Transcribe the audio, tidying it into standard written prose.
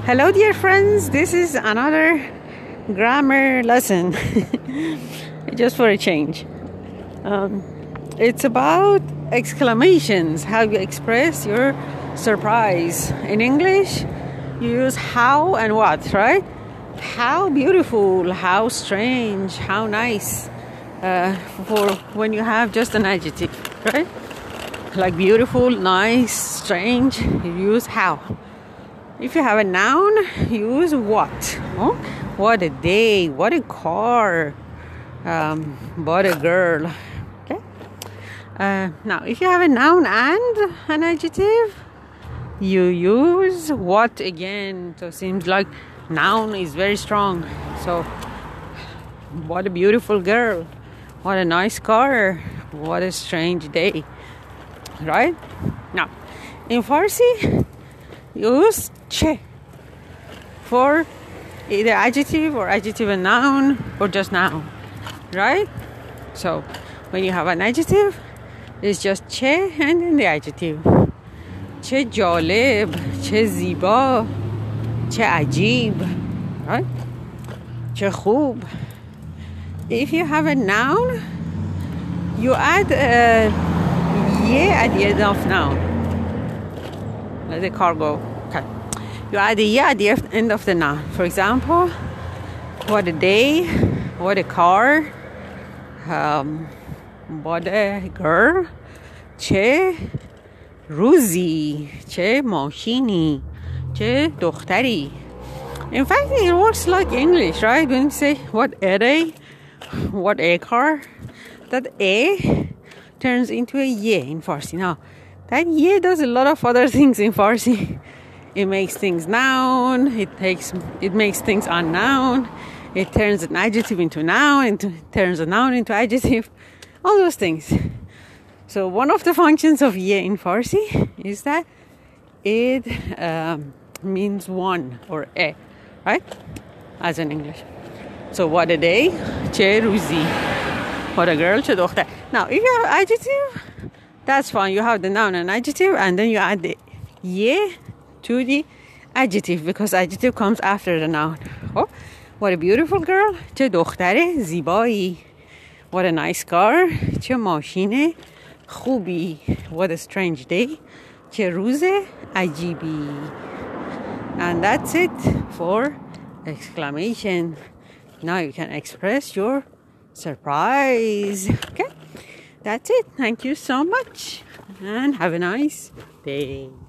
Hello dear friends, this is another grammar lesson just for a change. It's about exclamations, how you express your surprise. In English you use how and what, right? How beautiful, how strange, how nice, for when you have just an adjective, right? Like beautiful, nice, strange, you use how. If you have a noun, use what. Oh, what a day, what a car, what a girl. Okay. Now, if you have a noun and an adjective, you use what again. So it seems like noun is very strong. So, what a beautiful girl, what a nice car, what a strange day. Right? Now, in Farsi, use che for either adjective or adjective and noun or just noun, right? So when you have an adjective, it's just che and then the adjective. Che jalib, che ziba, che ajib, right? Che khub. If you have a noun, you add ye at the end of noun. Let the car go. Okay. You add a ye at the end of the noun. For example, what a day, what a car, what a girl, che ruzi, che mashini, che dokhtari. In fact, it works like English, right? When you say what a day, what a car, that a turns into a ye in Farsi. Now, that ye does a lot of other things in Farsi. It makes things noun, it makes things unnoun, it turns an adjective into noun, it turns a noun into adjective, all those things. So one of the functions of ye in Farsi is that it means one or a, right? As in English. So what a day, che ruzi. What a girl, che dokhtar. Now, if you have adjective, that's fine. You have the noun and adjective, and then you add the ye to the adjective, because adjective comes after the noun. Oh, what a beautiful girl, che dokhtare zibai. What a nice car, che mashine khubi. What a strange day, che ruze ajibi. And that's it for exclamation. Now you can express your surprise. Okay, that's it. Thank you so much and have a nice day.